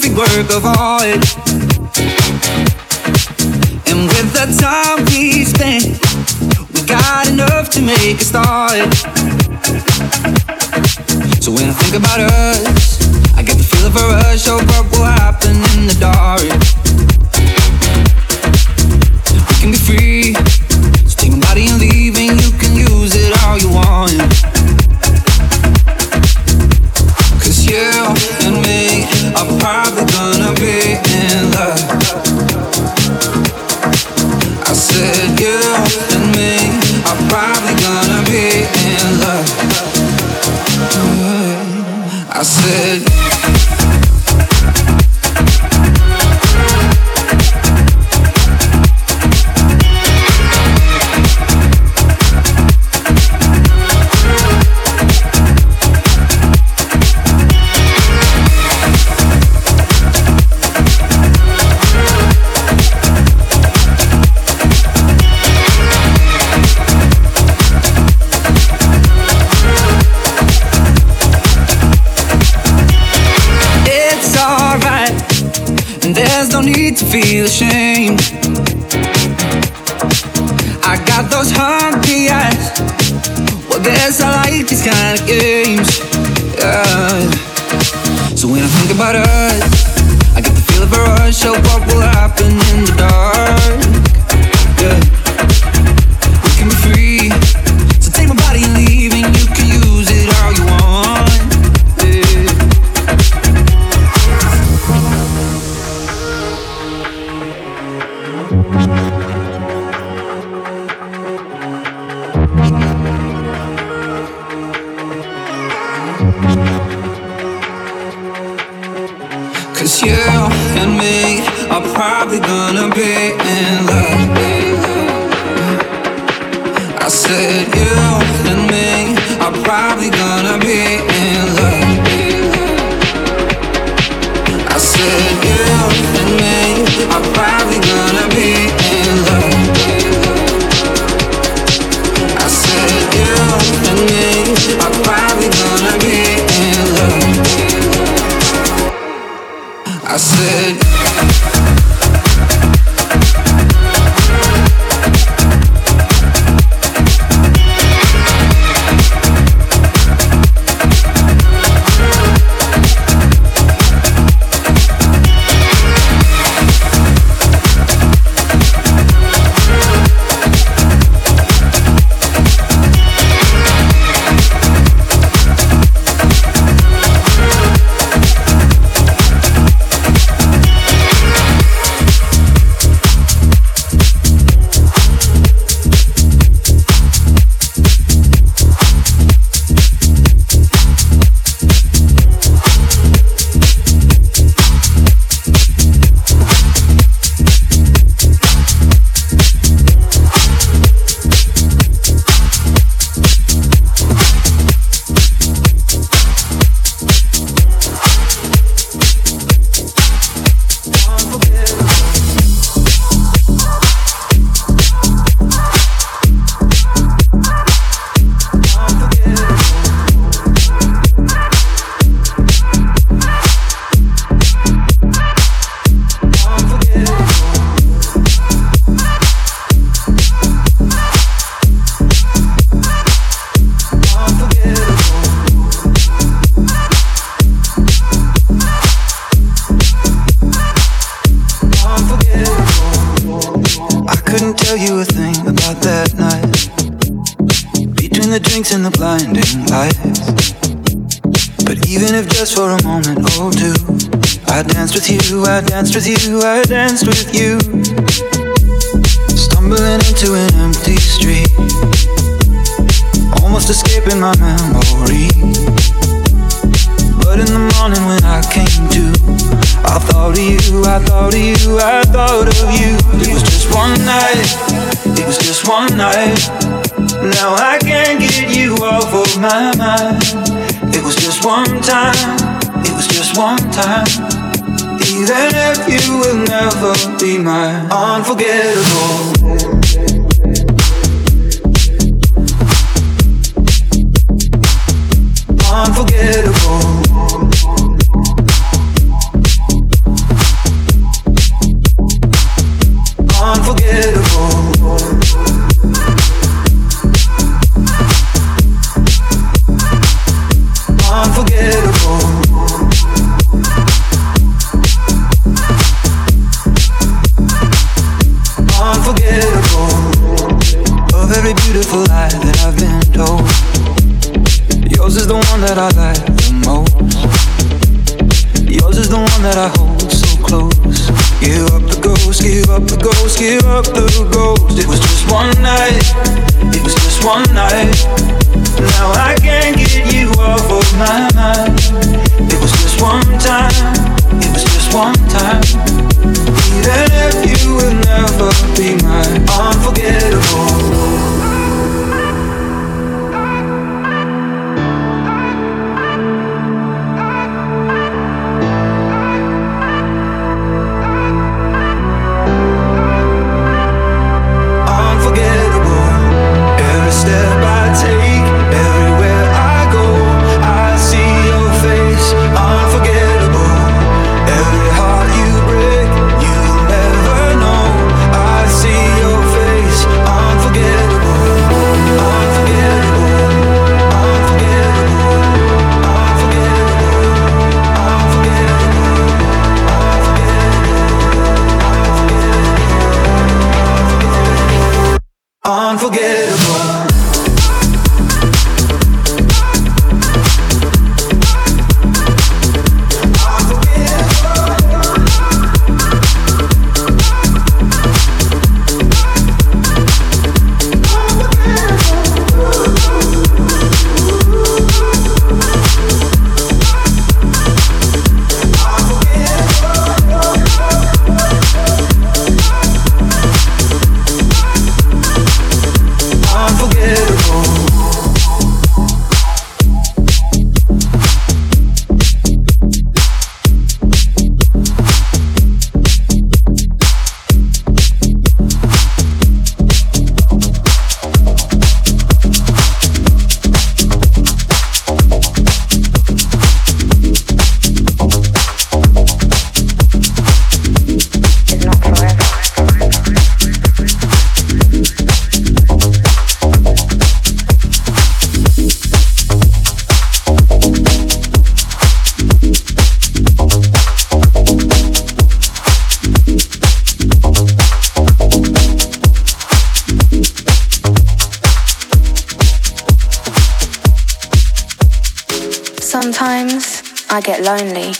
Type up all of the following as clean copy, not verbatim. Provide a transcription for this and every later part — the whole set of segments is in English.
perfect work of art. And with the time we spent, we got enough to make a start. So when I think about us, I get the feel of a rush of what will happen in the dark. We can be free, so take my body and leave, and you can use it all you want. Cause you and me are probably gonna be in love. I said you and me are probably gonna be in love. I said there's no need to feel ashamed. I got those hungry eyes. Well, guess I like these kind of games. Yeah. So when I think about us, I get the feel of a rush of what will happen in the dark. Yeah. We can be free, so take my body and leave, and you can use it all you want. Cause you and me are probably gonna be in love. I said you and me are probably gonna be in love. I said you and me are probably gonna be in love. I said you and me are probably gonna be in love. I said in the blinding lights. But even if just for a moment or two, I danced with you, I danced with you, I danced with you. Stumbling into an empty street, almost escaping my memory. But in the morning when I came to, I thought of you, I thought of you, I thought of you. It was just one night, it was just one night. Now I can't get you off of my mind. It was just one time, it was just one time. Even if you will never be mine, unforgettable. Unforgettable. unforgettable. Unforgettable. A very beautiful lie that I've been told. Yours is the one that I like the most. Yours is the one that I hold so close. Give up the ghost, give up the ghost, give up the ghost. It was just one night, it was just one night. Now I can't get you off of my mind. It was just one time, it was just one time. Even if you will never be mine, unforgettable. Sometimes I get lonely,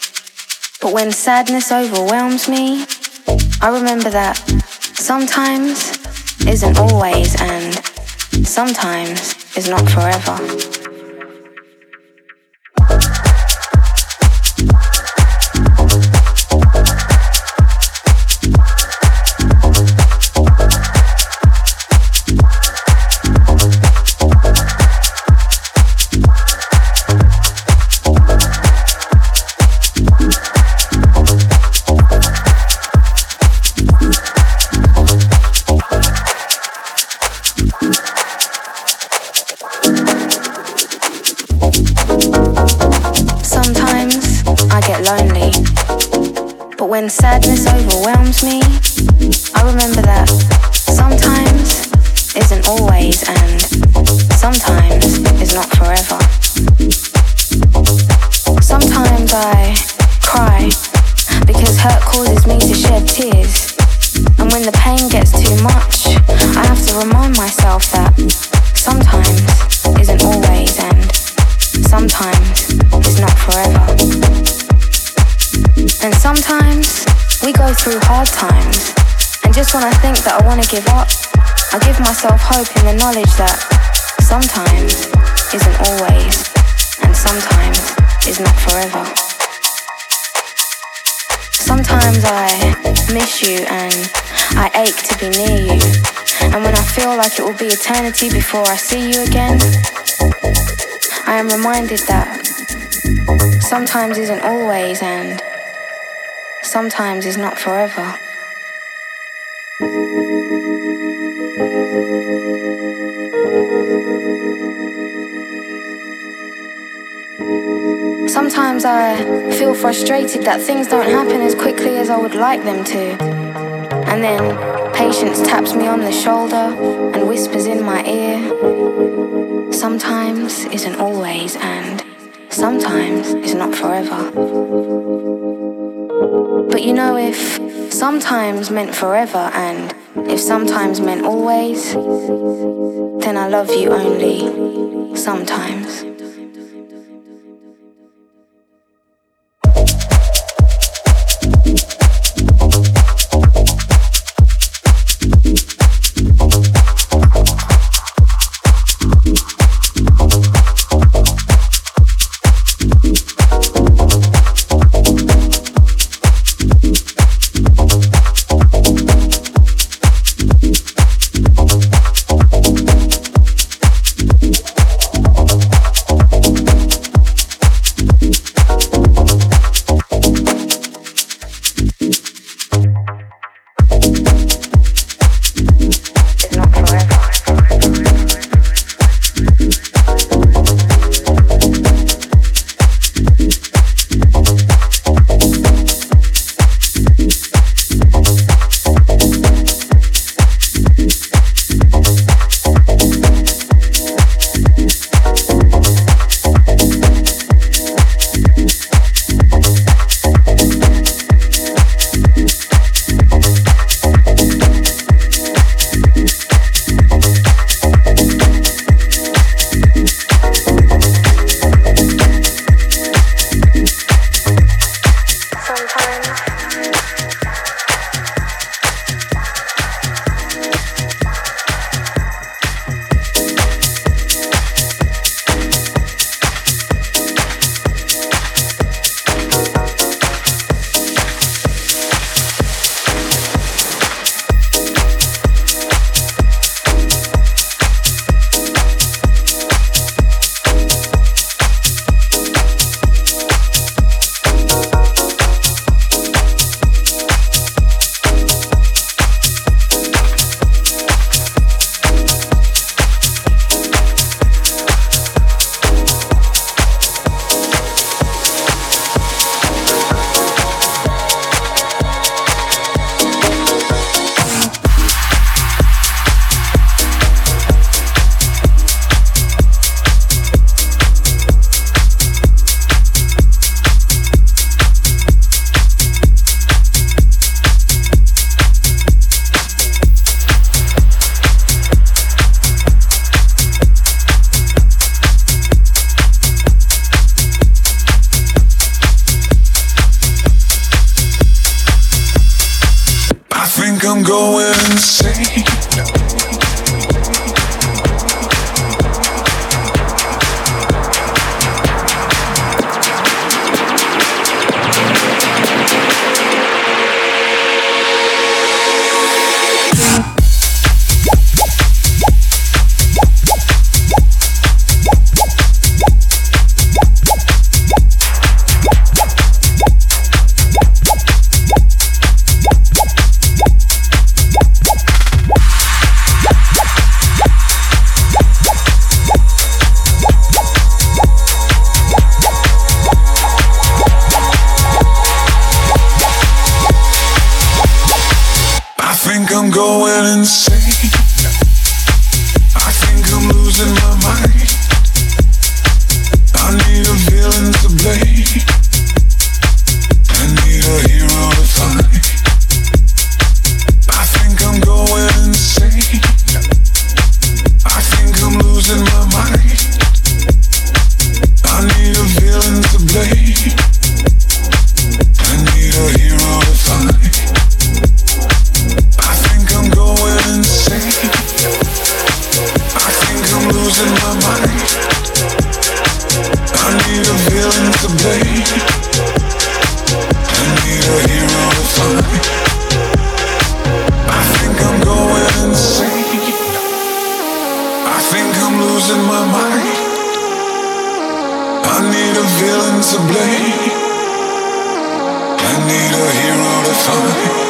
but when sadness overwhelms me, I remember that sometimes isn't always and sometimes is not forever. Lonely, but when sadness overwhelms me, I remember that sometimes isn't always and sometimes is not forever. Sometimes I cry because hurt causes me to shed tears, and when the pain gets too much, I have to remind myself that sometimes isn't always and sometimes is not forever. And sometimes we go through hard times, and just when I think that I want to give up, I give myself hope in the knowledge that sometimes isn't always and sometimes is not forever. Sometimes I miss you and I ache to be near you, and when I feel like it will be eternity before I see you again, I am reminded that sometimes isn't always and sometimes is not forever. Sometimes I feel frustrated that things don't happen as quickly as I would like them to. And then patience taps me on the shoulder and whispers in my ear, sometimes isn't always and sometimes is not forever. But you know, if sometimes meant forever and if sometimes meant always, then I love you only sometimes. I'm going insane. I'm going insane. I think I'm losing my mind. I need a villain to blame. I need a hero to find. I think I'm going insane. I think I'm losing my mind. I need a villain to blame. I need a hero to find. I'm going insane. I think I'm losing my mind. I need a villain to blame. I need a hero to find. I think I'm going insane. I think I'm losing my mind. I need a villain to blame. I need a hero to find.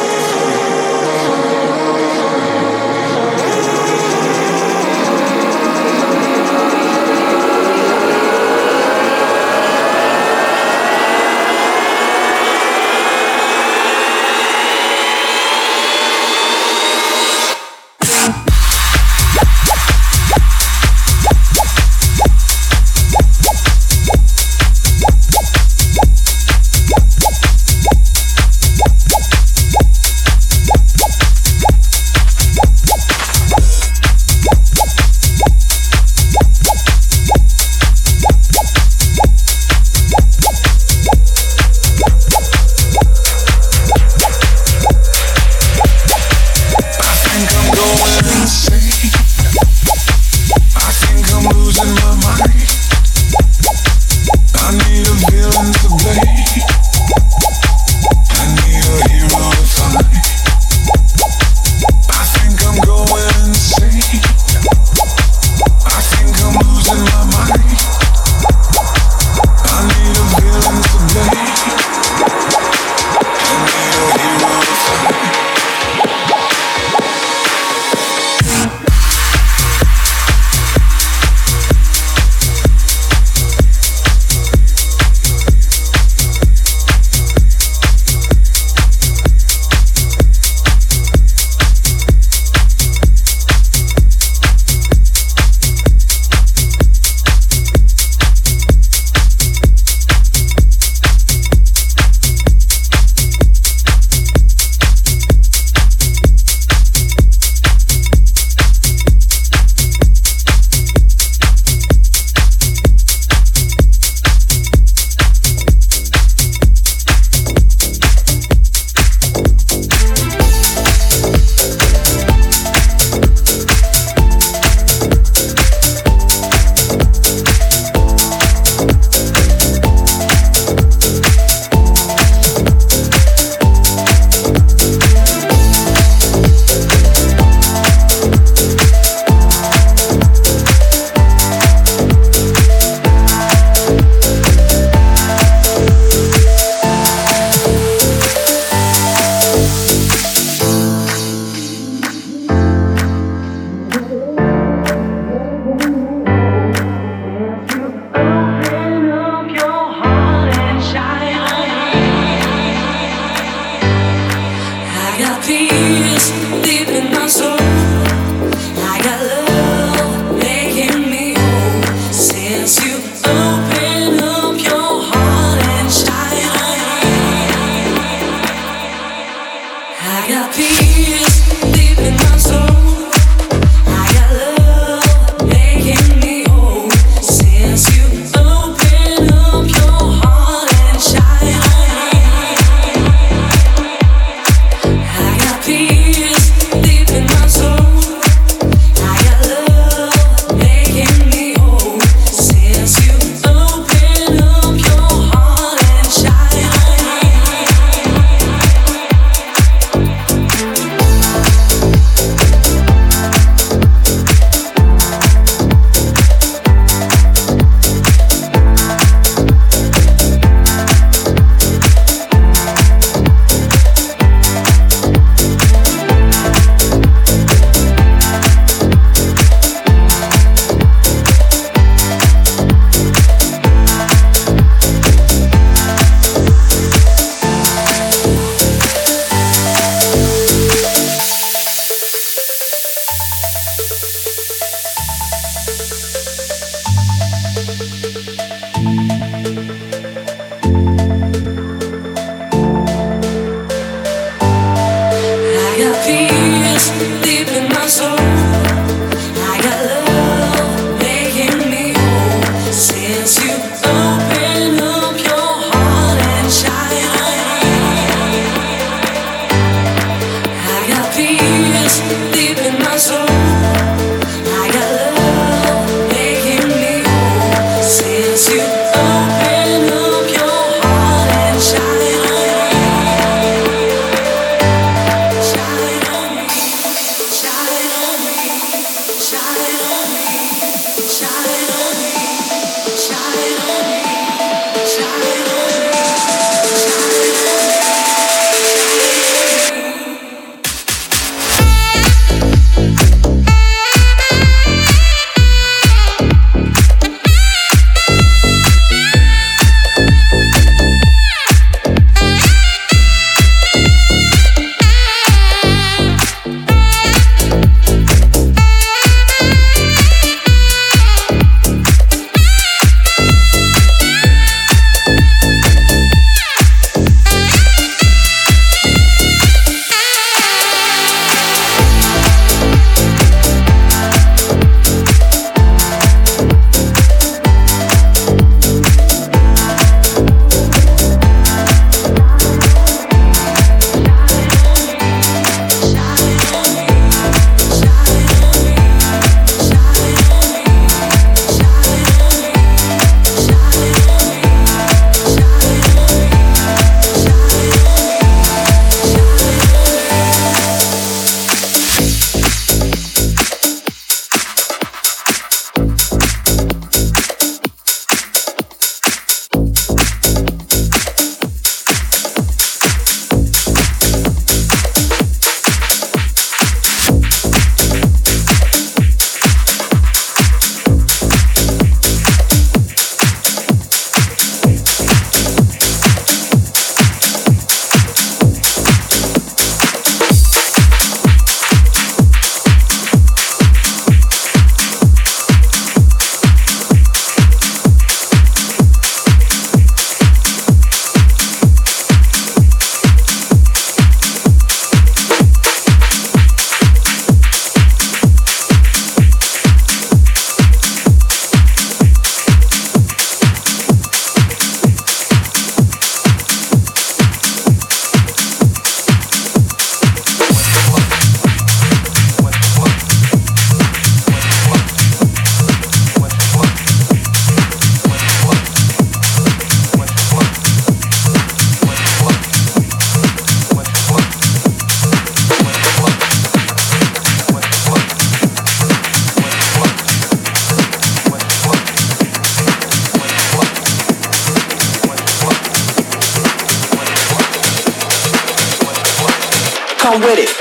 Come with it.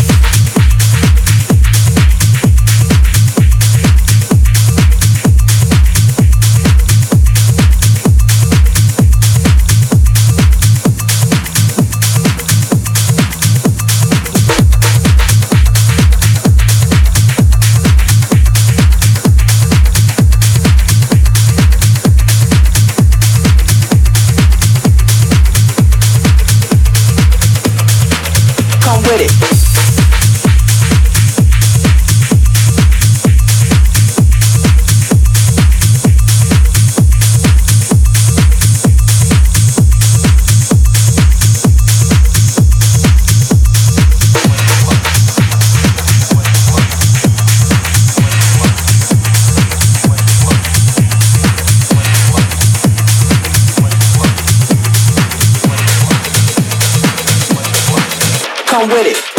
Come with it.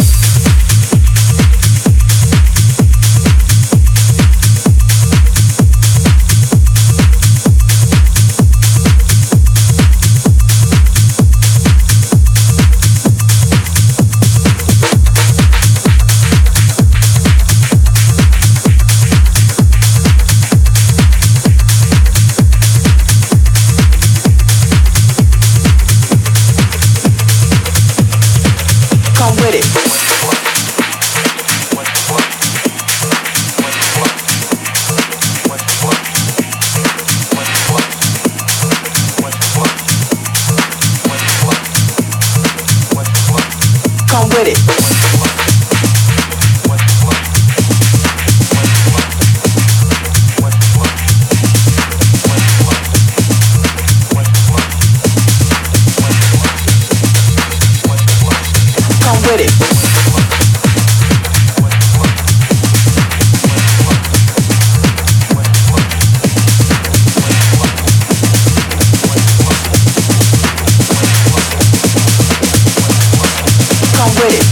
Come with it. Come with it. Come with it. Come with it.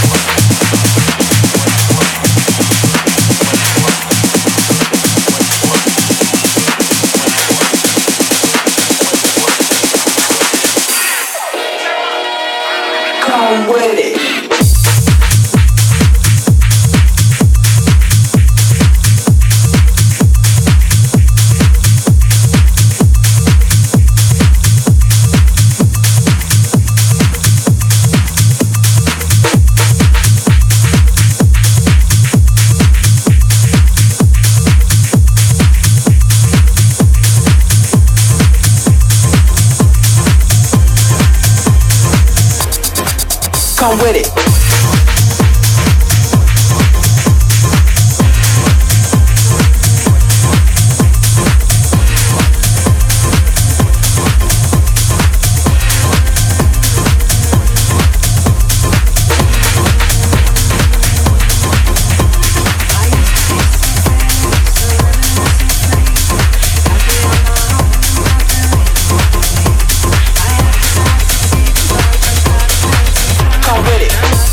Come with it. Come with it. Come with it.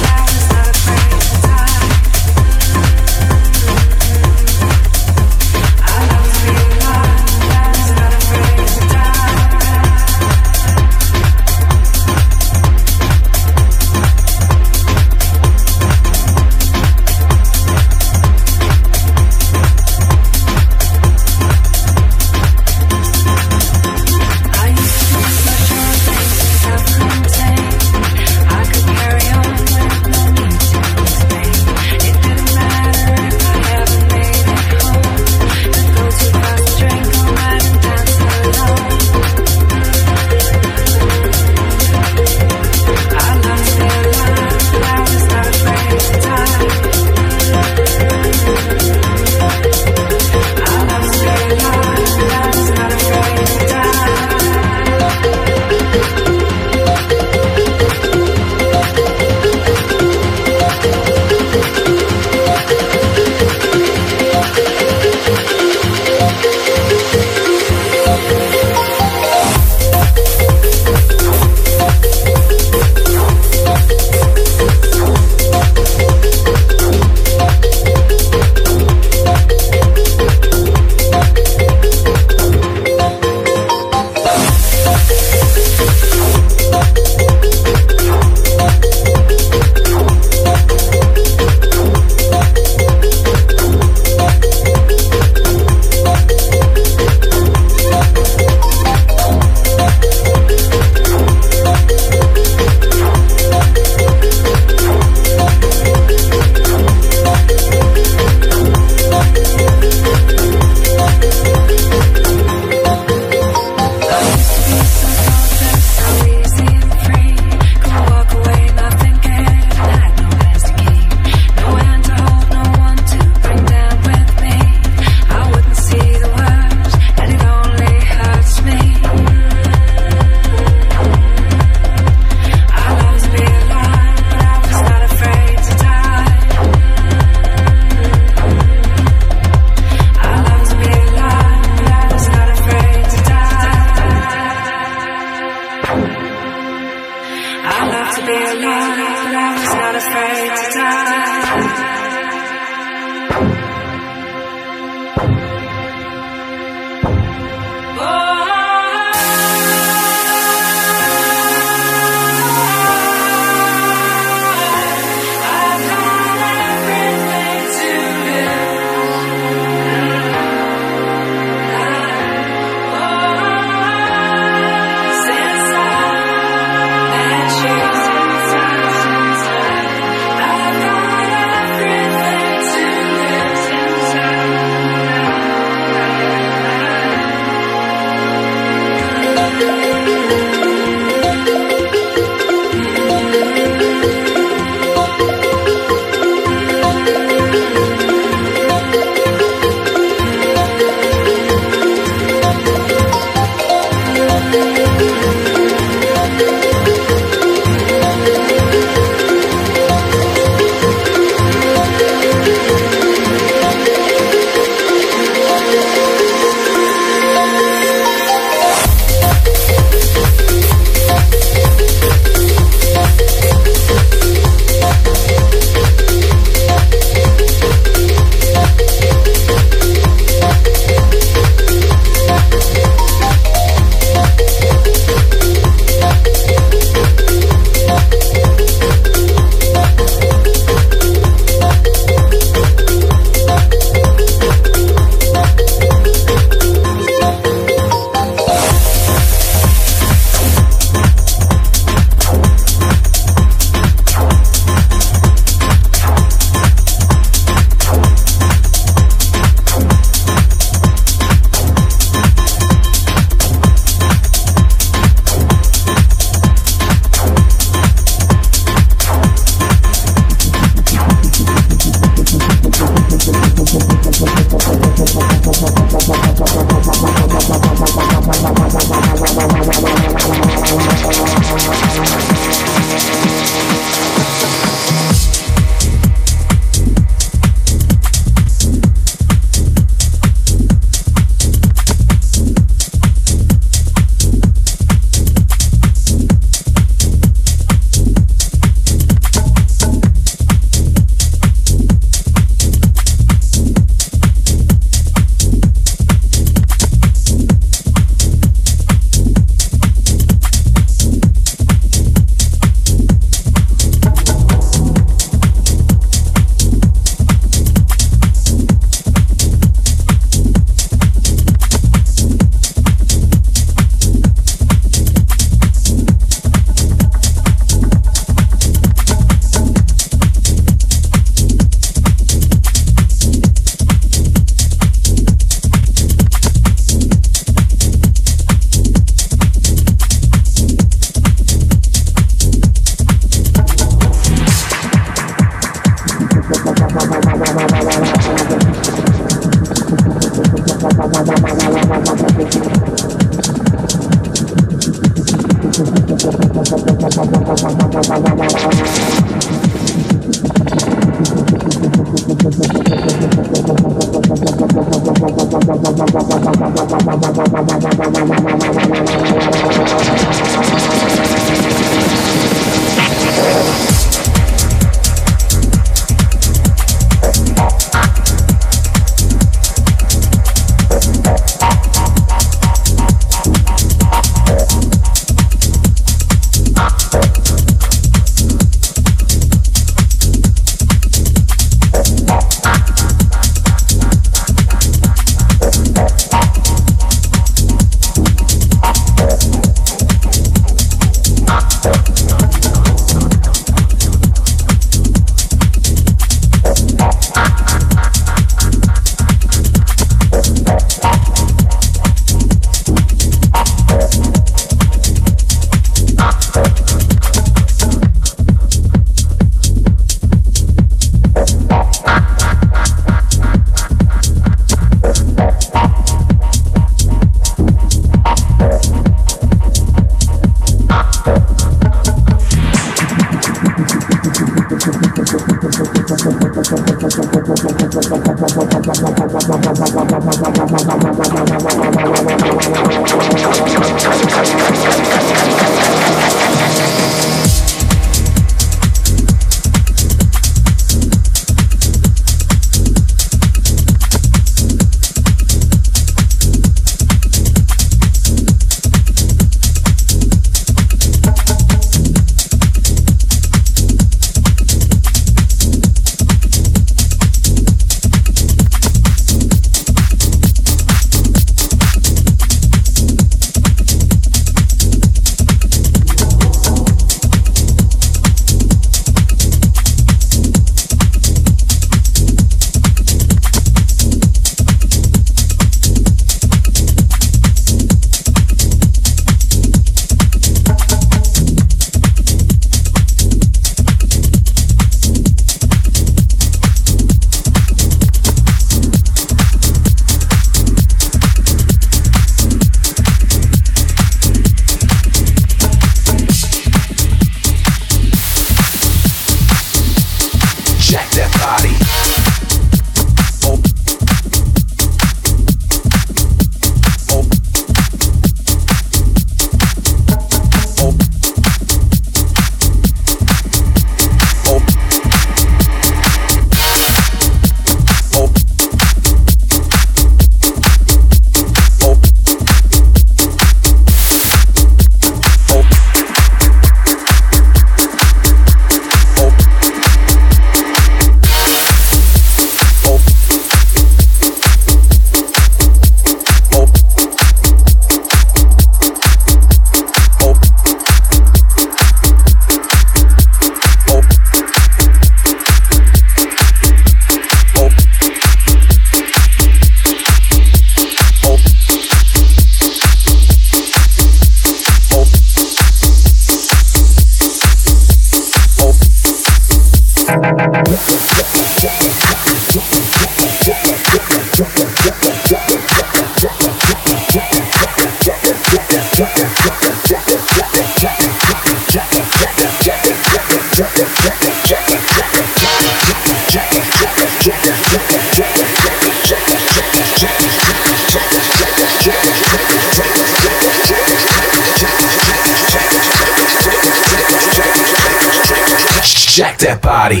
Jack that body.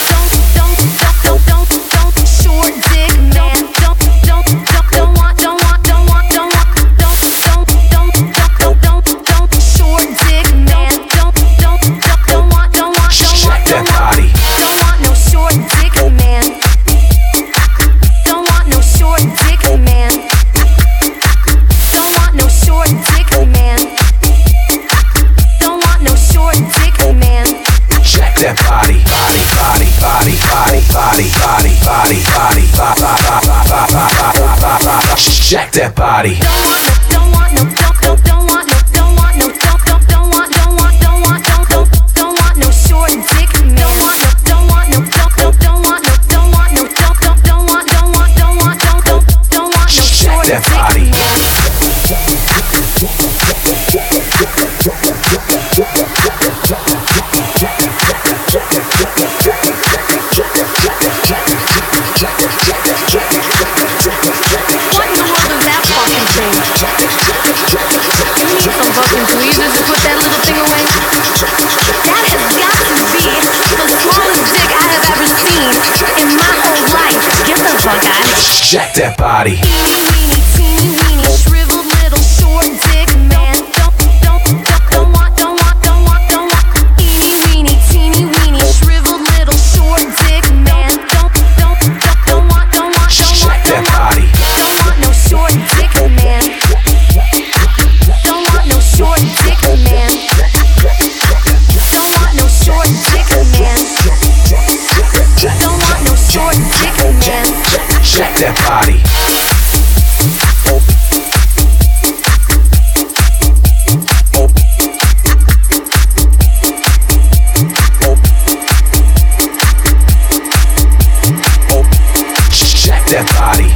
Jack that body. Don't want no short dick man. Don't want no Shake that body. Teeny, teeny, weeny, shriveled little short dick man. Don't want. Eeny, weeny, teeny, weeny, shriveled little short dick man. Don't want. Shake that body. Don't want no short dick man. Don't want no short dick man. Don't want no short dick man. Don't want no short dick man. Shake that body. Shake that body.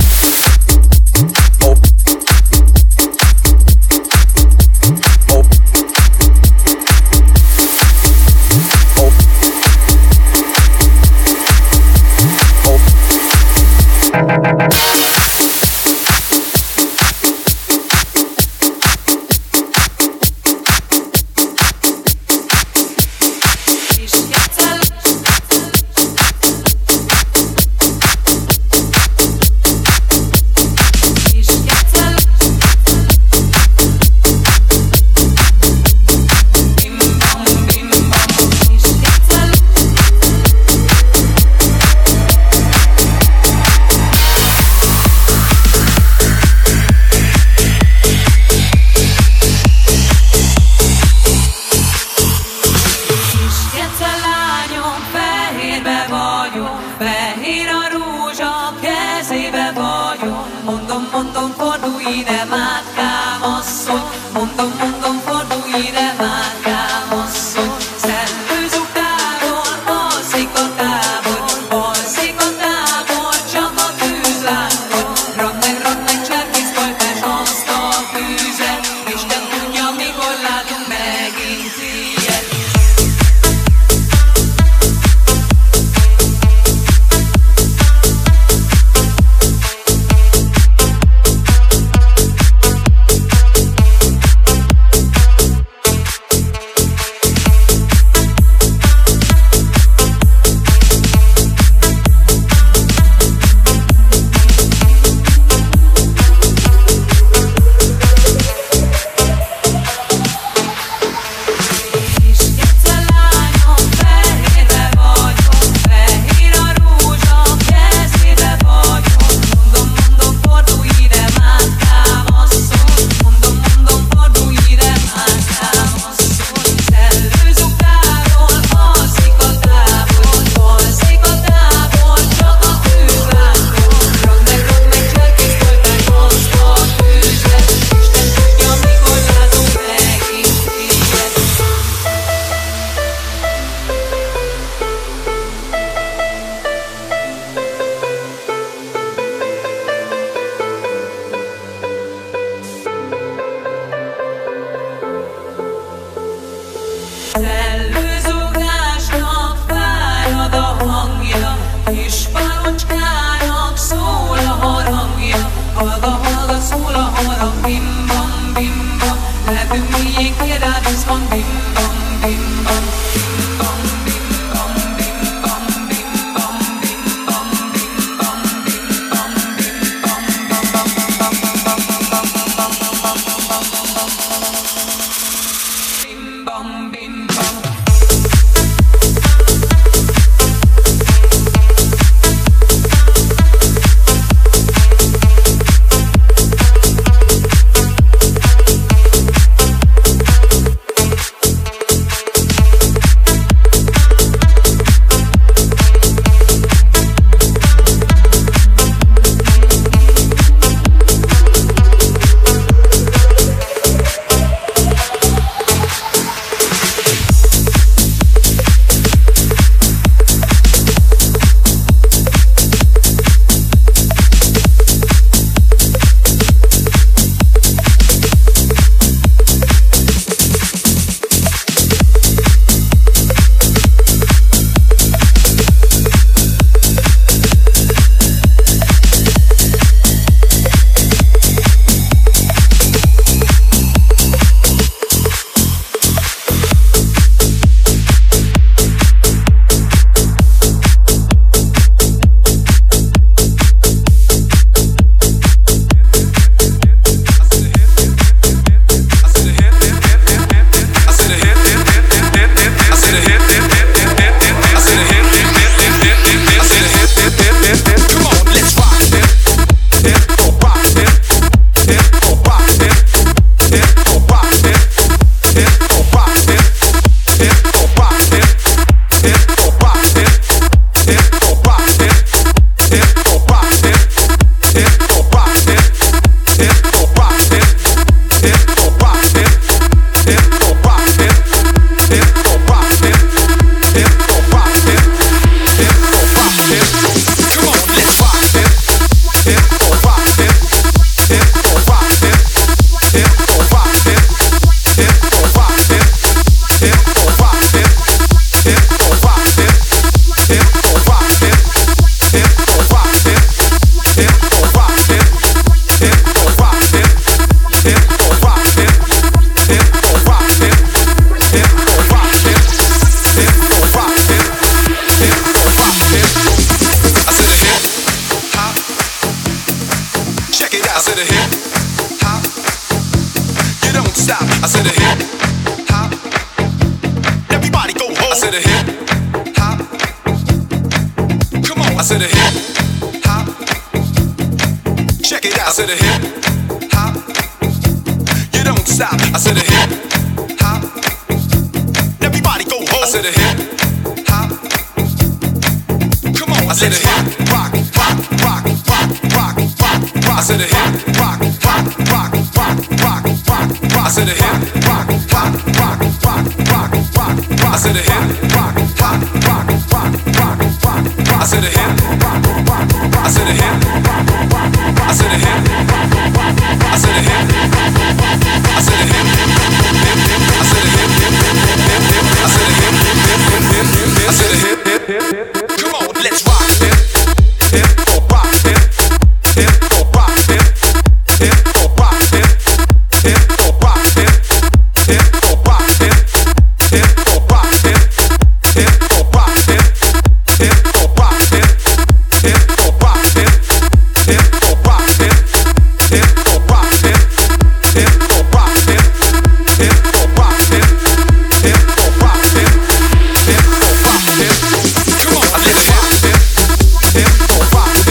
said a hip hop. You don't stop. I said a hip hop. Everybody go home. I said a hip hop. Come on. I said a hip hop. Check it out. I said a hip hop. You don't stop. I said a hip hop. Everybody go home. I said a hip hop. Come on. I said a hip rock, rock, rock, rock, rock, rock, rock. I said a hip rock, rock, rock, rock, rock, rock, rock. I said a hip rock, rock, rock, rock, rock, rock, rock. I said a hip rock, rock, rock, rock, rock, rock, rock. I said a hip rock, rock, rock. I said a hip rock, rock, rock. I said a hip rock, rock, rock. I said a hip I said a hip I said a hip I said a hip I said a hip come on, let's rock. Hip, oh rock, hip, oh rock, hip, oh rock, hip, oh rock, hip, oh rock, hip, oh rock, hip, oh rock, hip, oh rock, hip, oh rock, hip, oh rock, hip, oh rock, hip, oh rock, hip, oh rock, hip, oh rock, hip, oh rock, hip. Come on, let's rock. Hip, oh rock.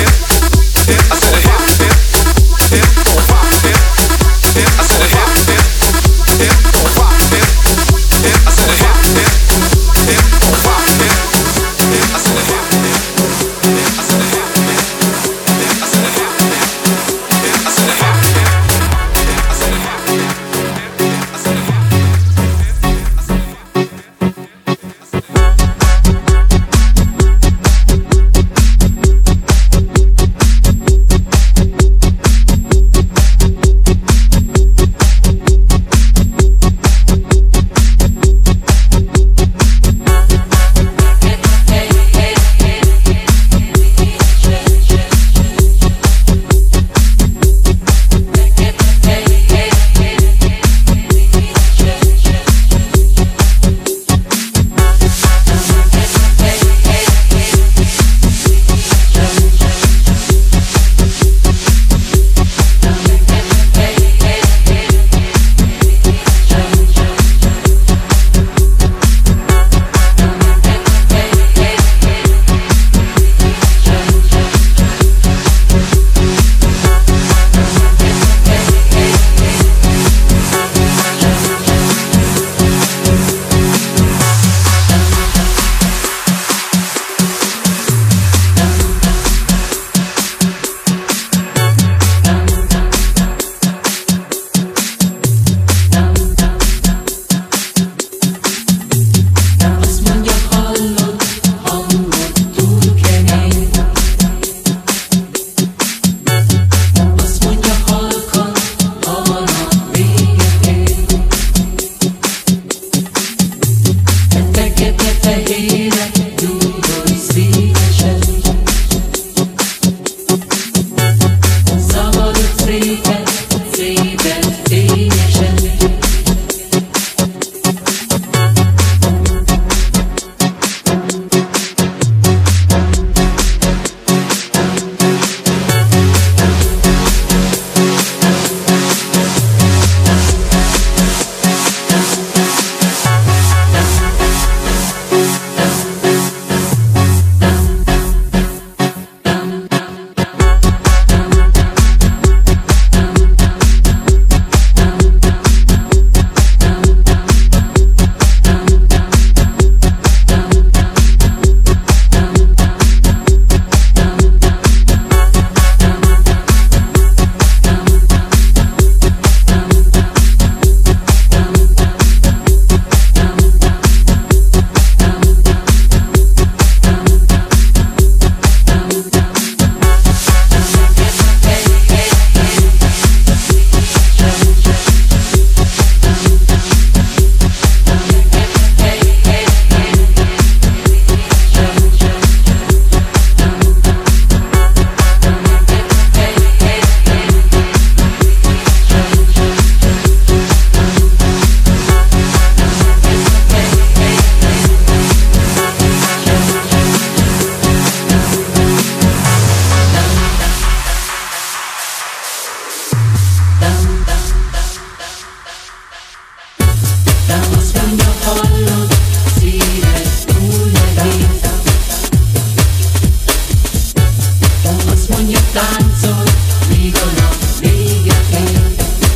táncol, míg a nap véget ér.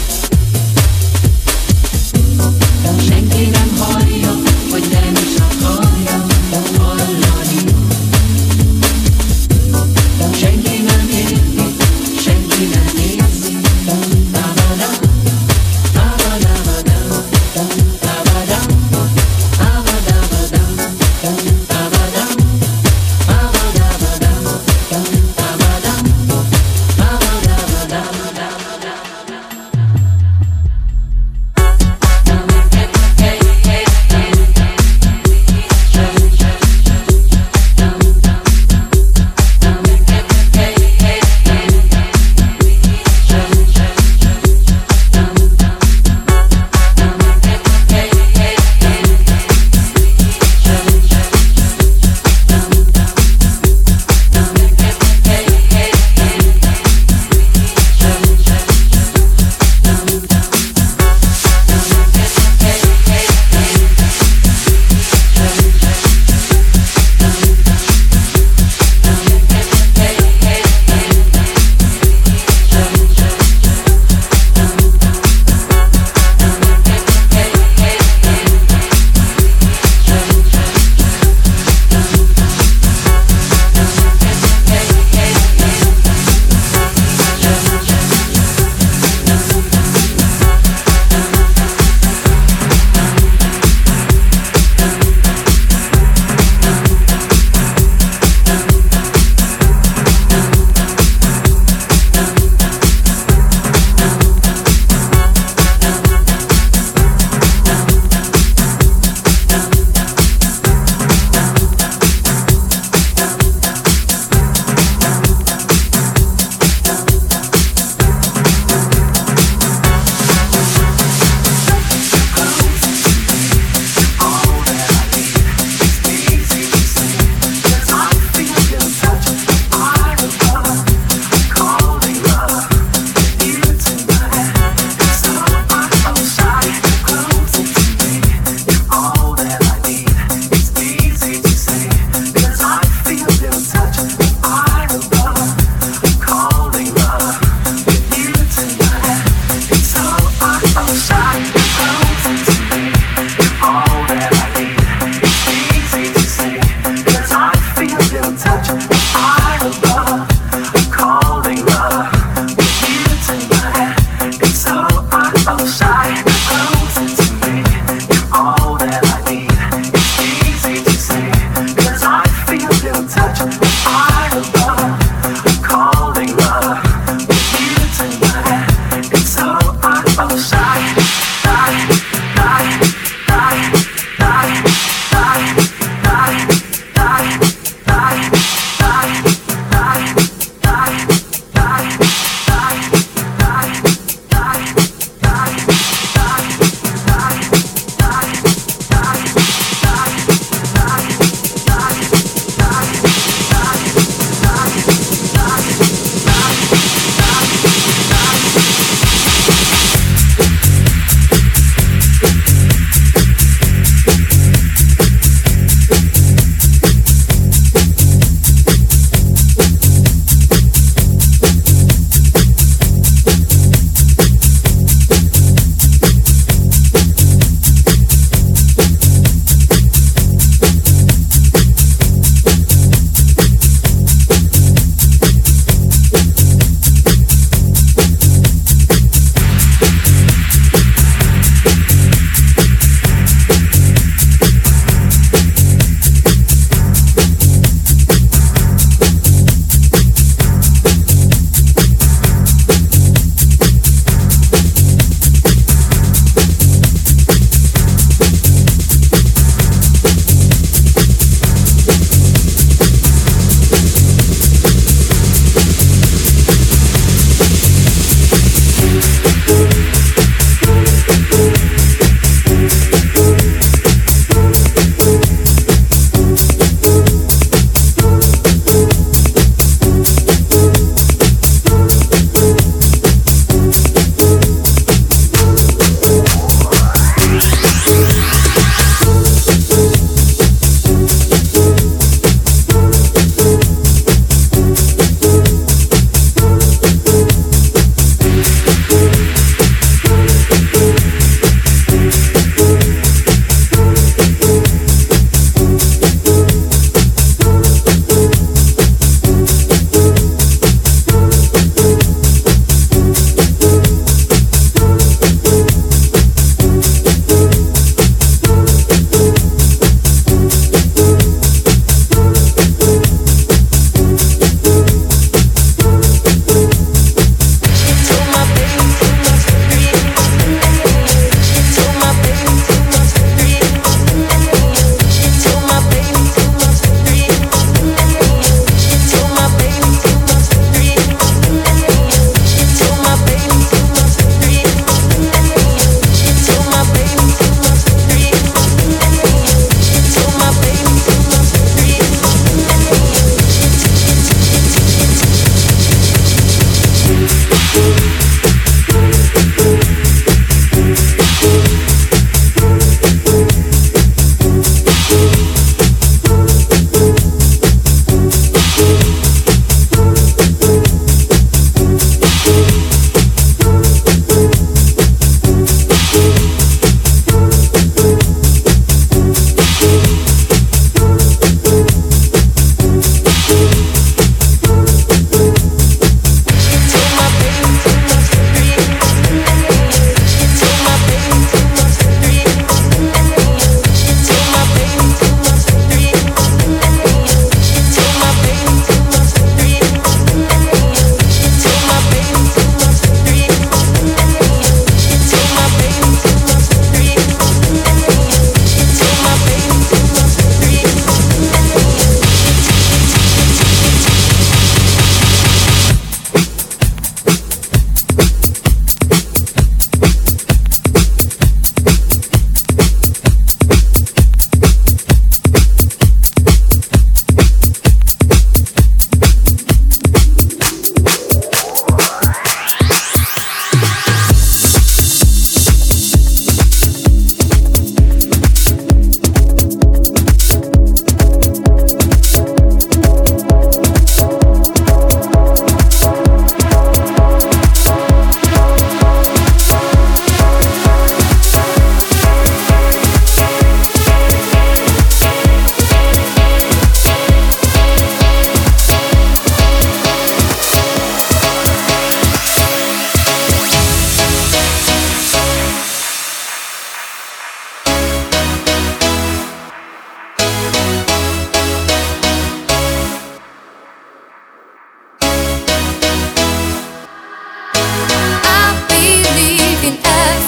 Senki nem hallja, vagy nem is akarja hallani. Senki nem érti, senki nem érzi. Tabadam, tabadabadam, tabadam, tabadabadam, tabadam, tabadabadam, tabadam, tabadam.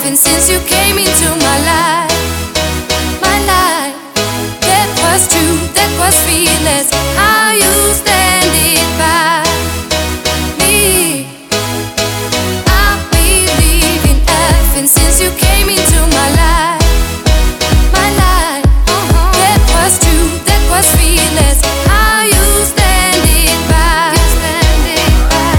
laughing since you came into my life. My life, that was true, that was fearless. How you stand it by me. I believe in laughing since you came into my life. My life, that was true, that was fearless. How you stand it by. You stand it by.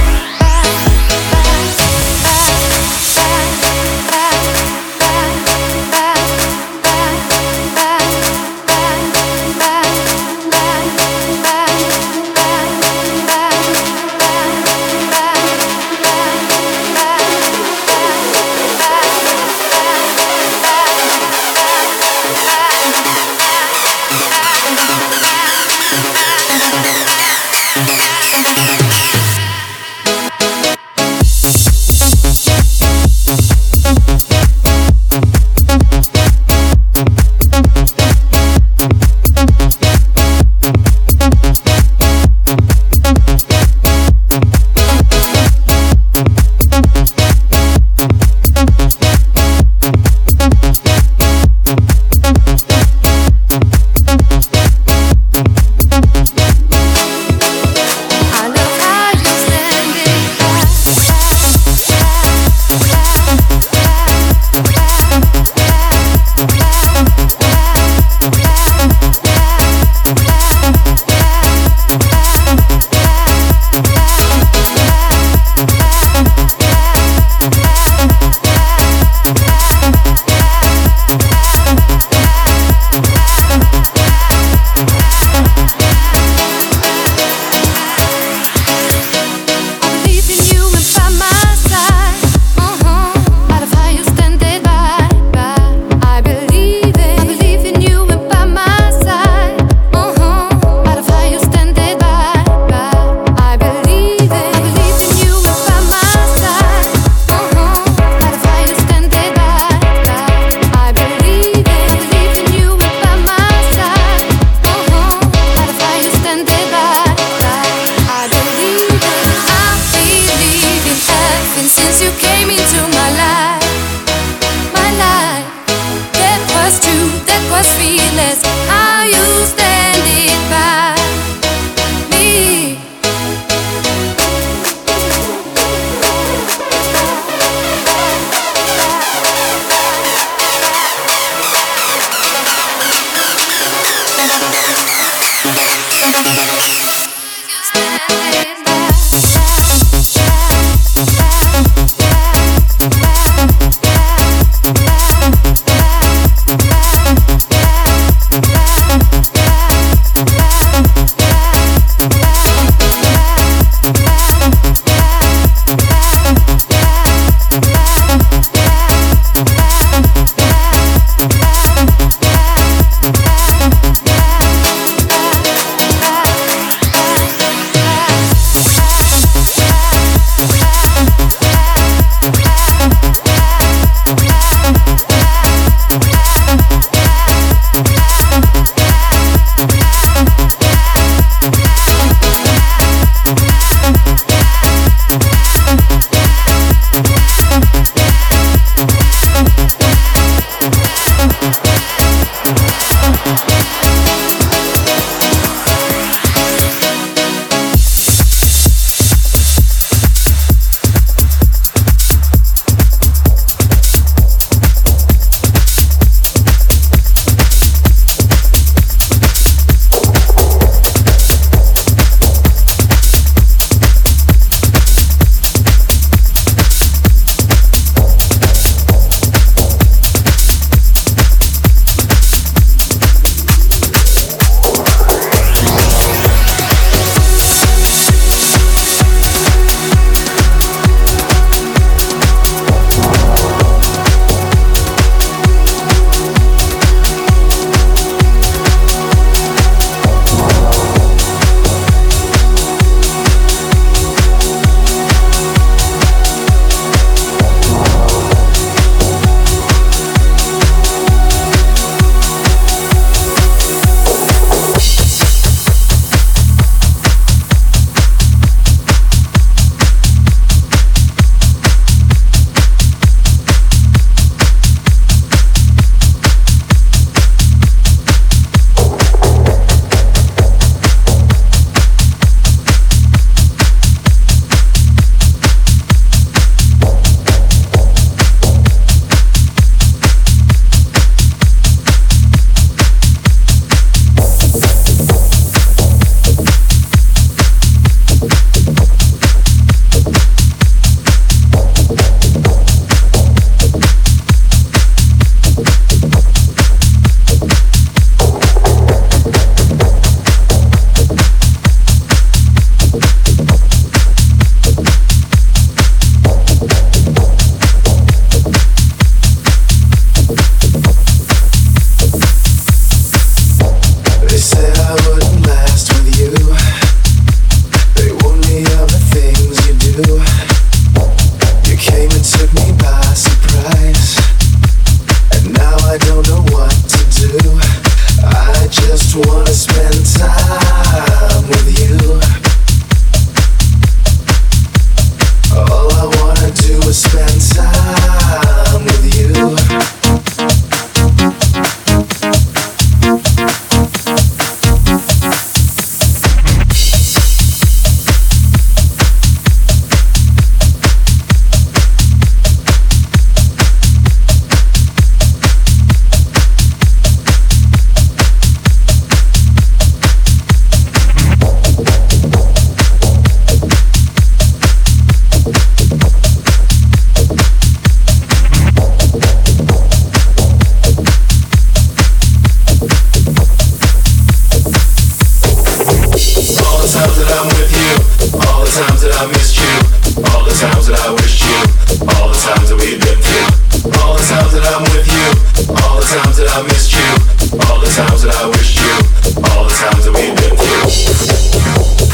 I missed you, all the times that I wished you, all the times that we've been through, all the times that I'm with you, all the times that I missed you, all the times that I wished you, all the times that we've been through.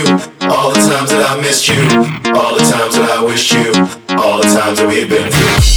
All the times that I wished you, all the times that we've been through.